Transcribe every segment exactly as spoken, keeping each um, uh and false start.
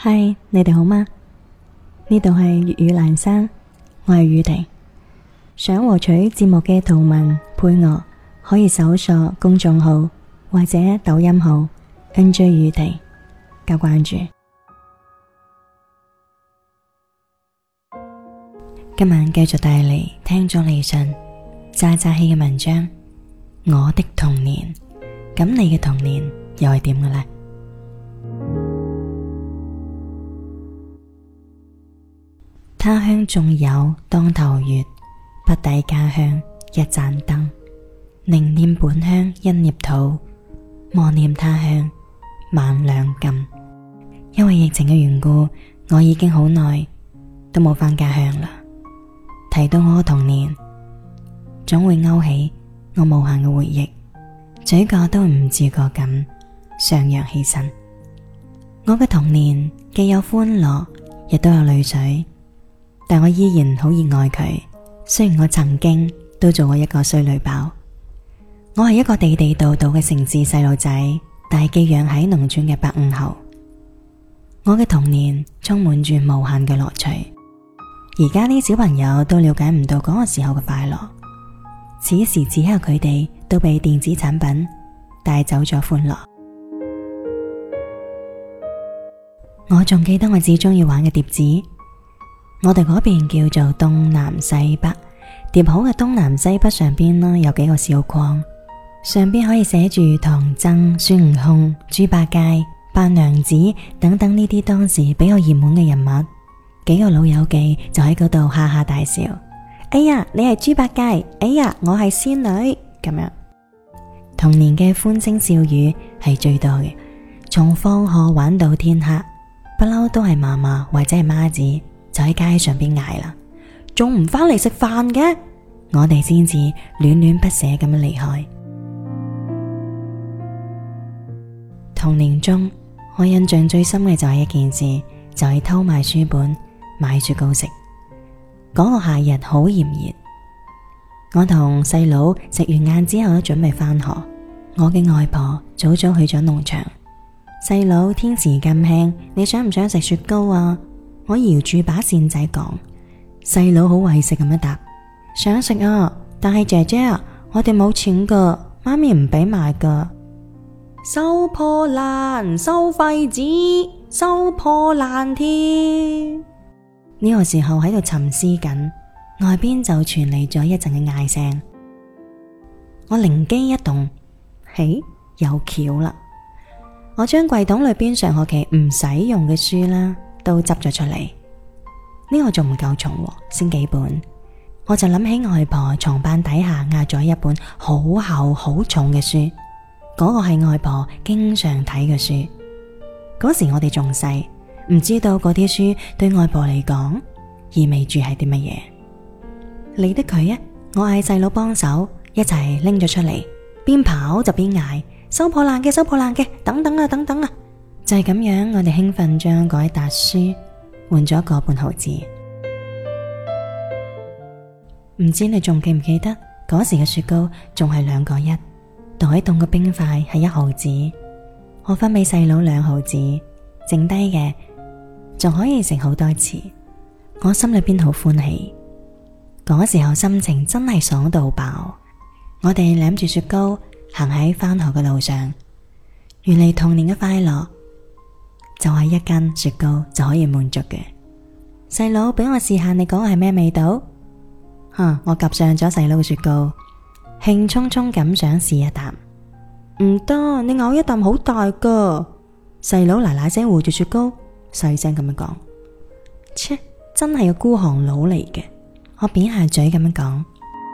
嗨，你哋好嗎？呢度係粵語闌珊，我係宇婷。想獲取節目嘅圖文配樂，可以搜索公眾號或者抖音號 N J 宇婷加關注。今晚繼續帶嚟聽咗李信渣渣希嘅文章《我的童年》。咁你嘅童年又係點嘅呢？他鄉仲有當頭月，不抵家鄉一盞燈。寧念本鄉一捏土，莫念他鄉萬兩金。因為疫情嘅緣故，我已經好耐都冇返家鄉啦。提到我嘅童年，總會勾起我無限嘅回憶，嘴角都唔自覺咁上揚起身。我嘅童年既有歡樂，亦都有淚水。但我依然好熱愛佢，雖然我曾經都做過一個衰女包。我係一個地地道道嘅城市細路仔，但係寄養喺農村嘅八五後。我嘅童年充滿住無限嘅樂趣，而家啲小朋友都了解唔到嗰個時候嘅快樂。此時此刻佢哋都被電子產品帶走咗歡樂。我仲記得我最中意玩嘅碟子，我哋嗰邊叫做東南西北，疊好嘅東南西北上邊呢有幾個小框，上邊可以寫住唐僧、孫悟空、豬八戒、白娘子等等呢啲當時比較熱門嘅人物。幾個老友記就喺嗰度哈哈大笑，哎呀你係豬八戒，哎呀我係仙女咁樣。童年嘅歡聲笑語係最多嘅，從放學玩到天黑，不嬲都係嫲嫲或者係媽子就喺街上邊嗌啦，仲唔返嚟食飯嘅？我哋先至戀戀不捨咁樣離開。童年中，我印象最深嘅就係一件事，就係偷買書本買雪糕食。嗰個夏日好炎熱，我同細佬食完晏之後都準備返學。我嘅外婆早早去咗農場。細佬天時咁輕，你想唔想食雪糕啊？我搖住把扇仔講。細佬好為食咁樣答，想食啊，但係姐姐啊，我哋冇錢噶，媽咪唔俾買噶。收破爛，收廢紙，收破爛添。呢個時候喺度沉思緊，外邊就傳嚟咗一陣嘅嗌聲。我靈機一動，嘿，有橋啦！我將櫃桶裏邊上學期唔使用嘅書啦，都執咗出嚟。呢個仲唔夠重，先幾本。我就諗起外婆床板底下壓咗一本好厚好重嘅書，嗰個係外婆經常睇嘅書。嗰時我哋仲細，唔知道嗰啲書對外婆嚟講意味住係啲乜嘢。理得佢啊！我嗌細佬幫手，一齊拎咗出嚟，邊跑就邊嗌，收破爛嘅，收破爛嘅，等等啊，等等啊！就係咁樣，我哋興奮將嗰一沓書換咗個半毫子。唔知你仲記唔記得嗰時嘅雪糕仲係兩個一，袋凍嘅冰塊係一毫子，我分俾細佬兩毫子，剩低嘅仲可以食好多次。我心裏邊好歡喜，嗰時候心情真係爽到爆。我哋攬住雪糕行喺返學嘅路上，原嚟童年嘅快樂就係一根雪糕就可以滿足嘅。細佬俾我試下，你講係咩味道？吓，我夾上咗細佬嘅雪糕，興沖沖咁想試一啖。唔得，你咬一啖好大噶。細佬嗱嗱聲護住雪糕，細聲咁樣講。切，真係個孤寒佬嚟嘅。我扁下嘴咁樣講。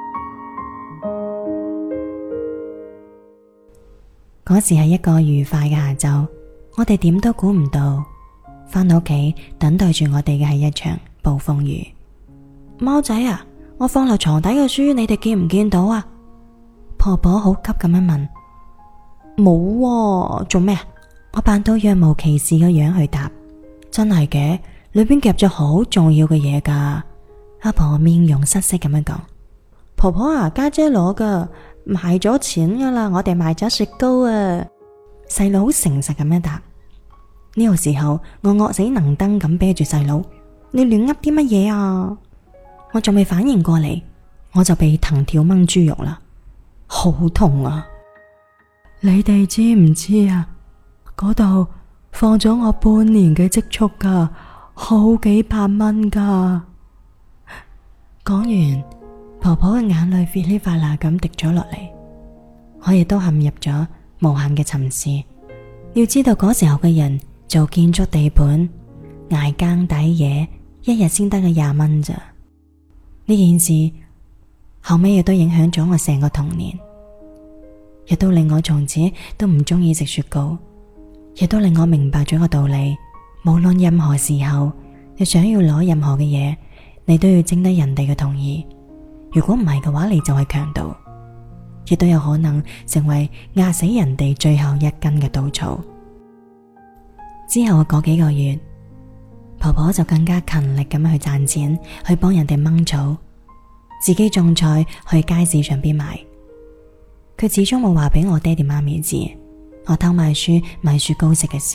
嗰時係一個愉快嘅下晝，我哋點都估唔到，返到屋企等待住我哋嘅係一場暴風雨。貓仔啊，我放落床底嘅書，你哋見唔見到啊？婆婆好急咁樣問。冇喎，做咩啊？我扮到若無其事嘅樣去答。真係嘅，裏邊夾咗好重要嘅嘢噶。阿婆面容失色咁樣講。婆婆啊，家姐攞噶，賣咗錢噶啦，我哋賣咗雪糕啊。細佬好誠實咁樣答。 呢個時候我惡死能登咁啤住細佬，你亂噏啲乜嘢啊？我仲未反應過嚟，我就被藤條掹豬肉啦，好痛啊！你哋知唔知啊？嗰度放咗我半年嘅積蓄噶，好幾百蚊噶。講完，婆婆嘅眼淚噼里啪啦咁滴咗落嚟，我亦都陷入咗無限嘅沉思。要知道嗰時候嘅人做建築地盤捱更抵夜，一日先得個廿蚊咋。呢件事後尾亦都影響咗我成個童年，亦都令我從此都唔中意食雪糕，亦都令我明白咗個道理，無論任何時候你想要攞任何嘅嘢，你都要徵得人哋嘅同意，如果唔係嘅話，你就係強盜，亦都有可能成為壓死人哋最後一根嘅稻草。之後嗰幾個月，婆婆就更加勤力咁去賺錢，去幫人哋掹草，自己種菜去街市上邊賣。佢始終冇話俾我爹哋媽咪知我偷買書買雪糕食嘅事。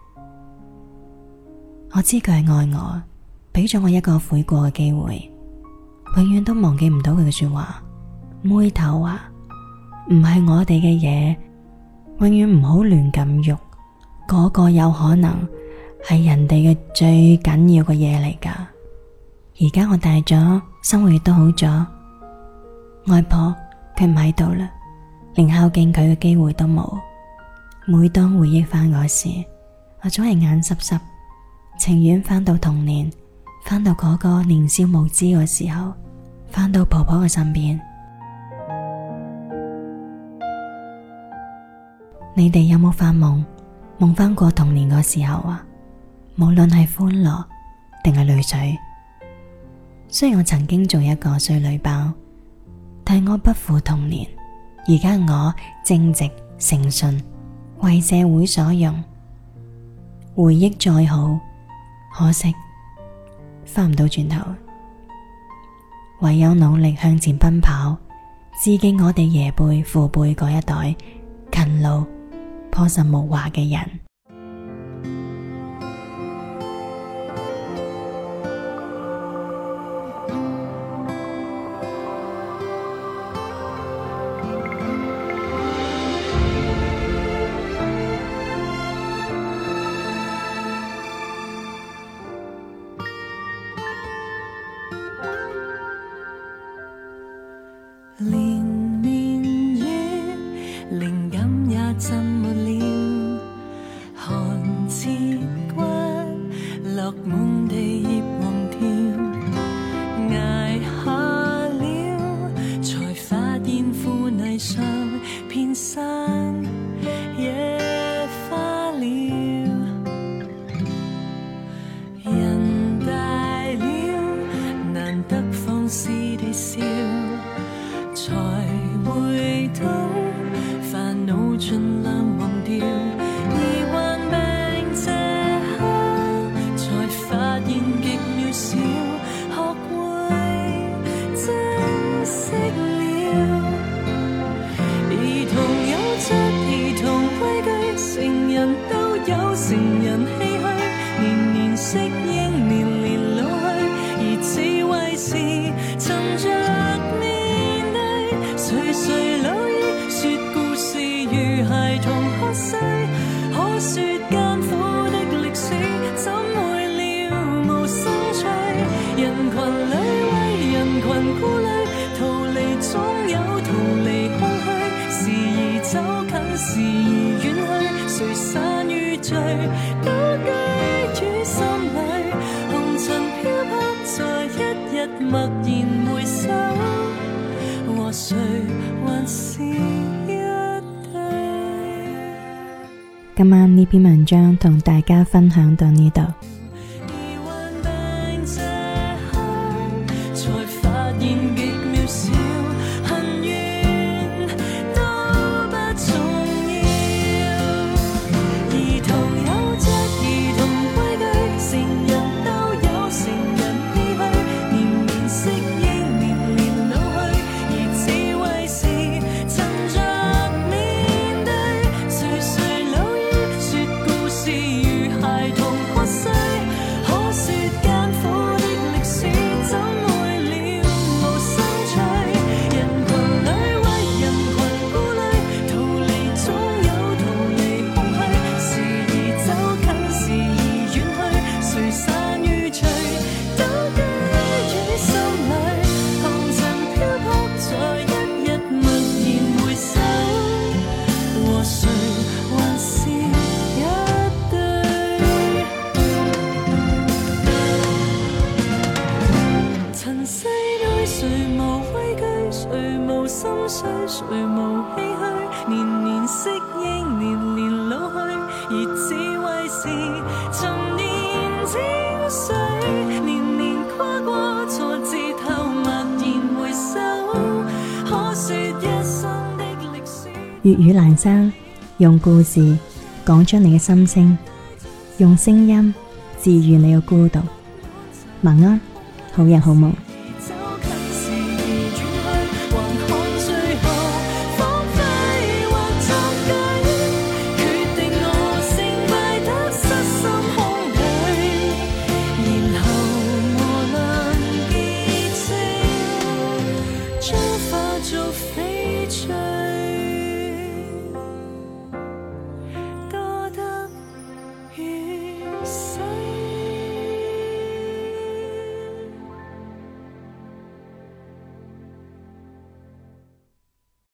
我知佢係愛我，俾咗我一個悔過嘅機會，永遠都忘記唔到佢嘅說話。妹頭啊，唔係我哋嘅嘢，永遠唔好亂咁喐，嗰個有可能係人哋嘅最緊要嘅嘢嚟噶。而家我大咗，生活亦都好咗，外婆佢唔喺度啦，連孝敬佢嘅機會都冇。每當回憶翻嗰時，我總係眼濕濕，情願翻到童年，翻到嗰個年少無知嘅時候，翻到婆婆嘅身邊。你哋有冇發夢，夢翻過童年嗰時候啊？無論係歡樂定係淚水。雖然我曾經做一個衰女包，但我不負童年。而家我正直誠信，為社會所用。回憶再好，可惜翻唔到轉頭，唯有努力向前奔跑，致敬我哋爺輩父輩嗰一代勤勞樸實無華嘅人。 連綿雨，靈感也浸沒了，寒徹骨，落滿地葉黃條，捱下了，才發現腐泥上遍山野花了。人大了，難得放肆地笑，才會到煩惱盡量忘掉，而患病這刻才發現極渺小，學會珍惜了。兒童有着兒童畏懼，成人都有成人唏噓，年年適應，年年老去，而智慧是沉着垂垂老矣，說故事如孩童喝水，可說艱苦的歷史，怎會了無生趣？人群裏為人群顧慮，逃離總有逃離空虛，時而走近，時而遠去，誰散與聚，都居於心裏。紅塵飄泊在一日默然回首，和誰還是一對。 今晚呢篇文章同大家分享到呢度。 如粵語闌珊，用故事講出你嘅心聲，用聲音治愈你嘅孤獨。晚安，好人好夢。